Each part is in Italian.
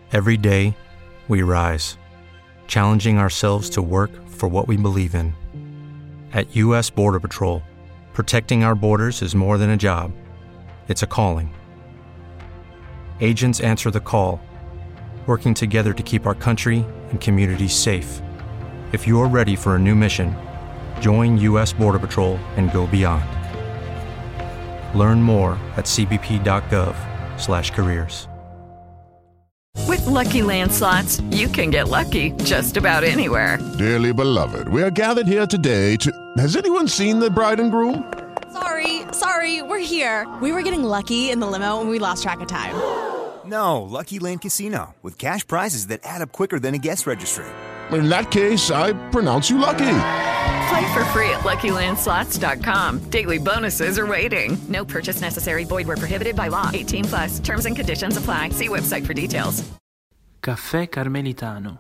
Every day, we rise, challenging ourselves to work for what we believe in. At U.S. Border Patrol, protecting our borders is more than a job. It's a calling. Agents answer the call, working together to keep our country and communities safe. If you're ready for a new mission, join U.S. Border Patrol and go beyond. Learn more at cbp.gov/careers. With Lucky Land Slots, you can get lucky just about anywhere. Dearly beloved, we are gathered here today to... Has anyone seen the bride and groom? Sorry, we're here. We were getting lucky in the limo and we lost track of time. No, Lucky Land Casino, with cash prizes that add up quicker than a guest registry. In that case, I pronounce you lucky. Play for free at LuckyLandSlots.com. Daily bonuses are waiting. No purchase necessary. Void where prohibited by law. 18+. Terms and conditions apply. See website for details. Caffè Carmelitano.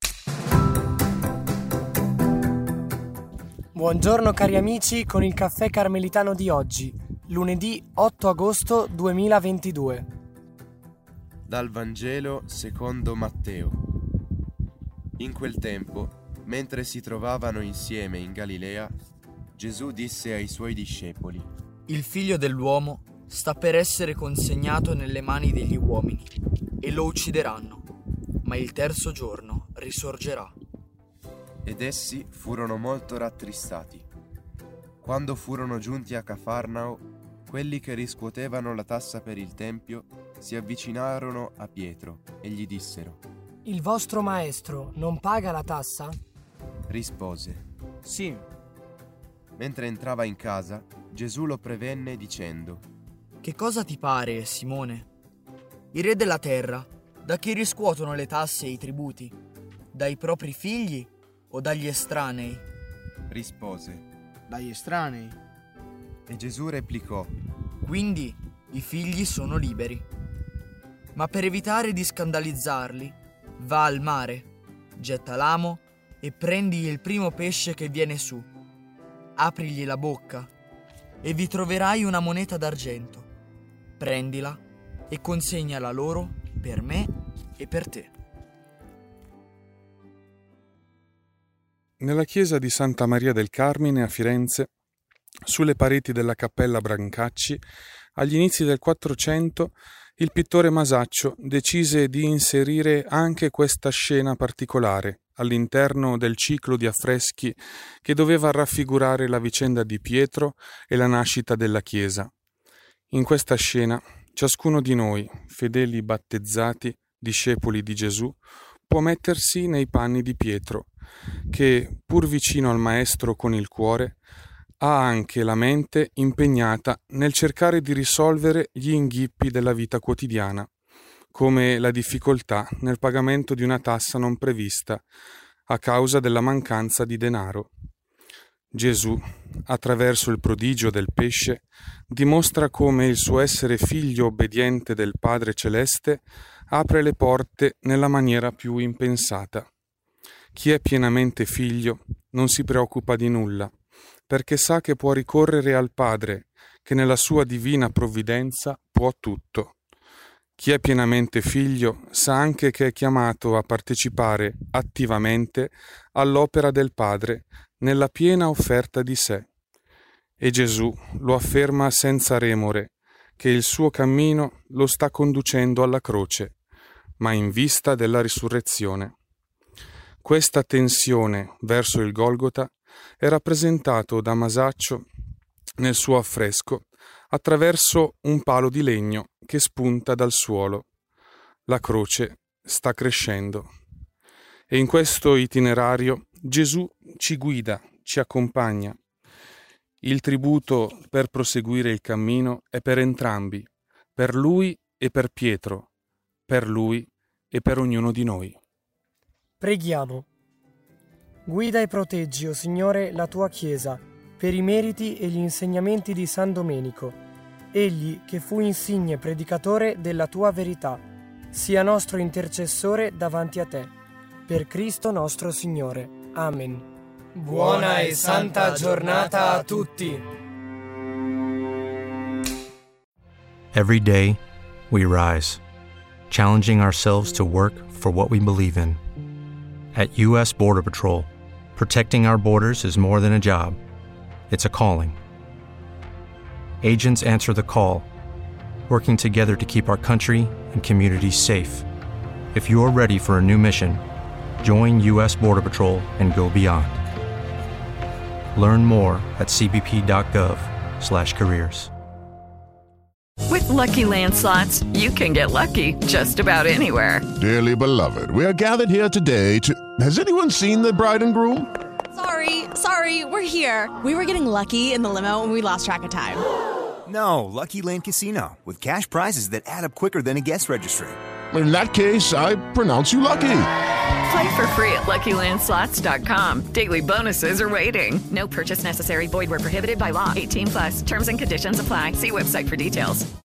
Buongiorno cari amici con il Caffè Carmelitano di oggi, lunedì 8 agosto 2022. Dal Vangelo secondo Matteo. In quel tempo, mentre si trovavano insieme in Galilea, Gesù disse ai suoi discepoli: Il figlio dell'uomo sta per essere consegnato nelle mani degli uomini e lo uccideranno, ma il terzo giorno risorgerà. Ed essi furono molto rattristati. Quando furono giunti a Cafarnao, quelli che riscuotevano la tassa per il tempio si avvicinarono a Pietro e gli dissero: Il vostro maestro non paga la tassa? Rispose: Sì. Mentre entrava in casa, Gesù lo prevenne dicendo: Che cosa ti pare, Simone? I re della terra, da chi riscuotono le tasse e i tributi? Dai propri figli o dagli estranei? Rispose: Dagli estranei. E Gesù replicò: Quindi i figli sono liberi. Ma per evitare di scandalizzarli, va al mare, getta l'amo e prendi il primo pesce che viene su. Aprigli la bocca e vi troverai una moneta d'argento. Prendila e consegnala loro per me e per te. Nella chiesa di Santa Maria del Carmine a Firenze, sulle pareti della cappella Brancacci, agli inizi del 400, il pittore Masaccio decise di inserire anche questa scena particolare all'interno del ciclo di affreschi che doveva raffigurare la vicenda di Pietro e la nascita della Chiesa. In questa scena, ciascuno di noi, fedeli battezzati, discepoli di Gesù, può mettersi nei panni di Pietro, che, pur vicino al Maestro con il cuore, ha anche la mente impegnata nel cercare di risolvere gli inghippi della vita quotidiana, come la difficoltà nel pagamento di una tassa non prevista a causa della mancanza di denaro. Gesù, attraverso il prodigio del pesce, dimostra come il suo essere figlio obbediente del Padre Celeste apre le porte nella maniera più impensata. Chi è pienamente figlio non si preoccupa di nulla, perché sa che può ricorrere al Padre, che nella sua divina provvidenza può tutto. Chi è pienamente figlio sa anche che è chiamato a partecipare attivamente all'opera del Padre nella piena offerta di sé. E Gesù lo afferma senza remore, che il suo cammino lo sta conducendo alla croce, ma in vista della risurrezione. Questa tensione verso il Golgota è rappresentato da Masaccio nel suo affresco attraverso un palo di legno che spunta dal suolo. La croce sta crescendo. E in questo itinerario Gesù ci guida, ci accompagna. Il tributo per proseguire il cammino è per entrambi, per Lui e per Pietro, per Lui e per ognuno di noi. Preghiamo. Guida e proteggi, o Signore, la tua Chiesa, per i meriti e gli insegnamenti di San Domenico. Egli, che fu insigne predicatore della tua verità, sia nostro intercessore davanti a te. Per Cristo nostro Signore. Amen. Buona e santa giornata a tutti. Every day, we rise, challenging ourselves to work for what we believe in. At U.S. Border Patrol, protecting our borders is more than a job. It's a calling. Agents answer the call, working together to keep our country and communities safe. If you're ready for a new mission, join U.S. Border Patrol and go beyond. Learn more at cbp.gov/careers. With Lucky Land Slots, you can get lucky just about anywhere. Dearly beloved, we are gathered here today to... Has anyone seen the bride and groom? Sorry, we're here. We were getting lucky in the limo and we lost track of time. No, Lucky Land Casino, with cash prizes that add up quicker than a guest registry. In that case, I pronounce you lucky. Play for free at LuckyLandSlots.com. Daily bonuses are waiting. No purchase necessary. Void where prohibited by law. 18+. Terms and conditions apply. See website for details.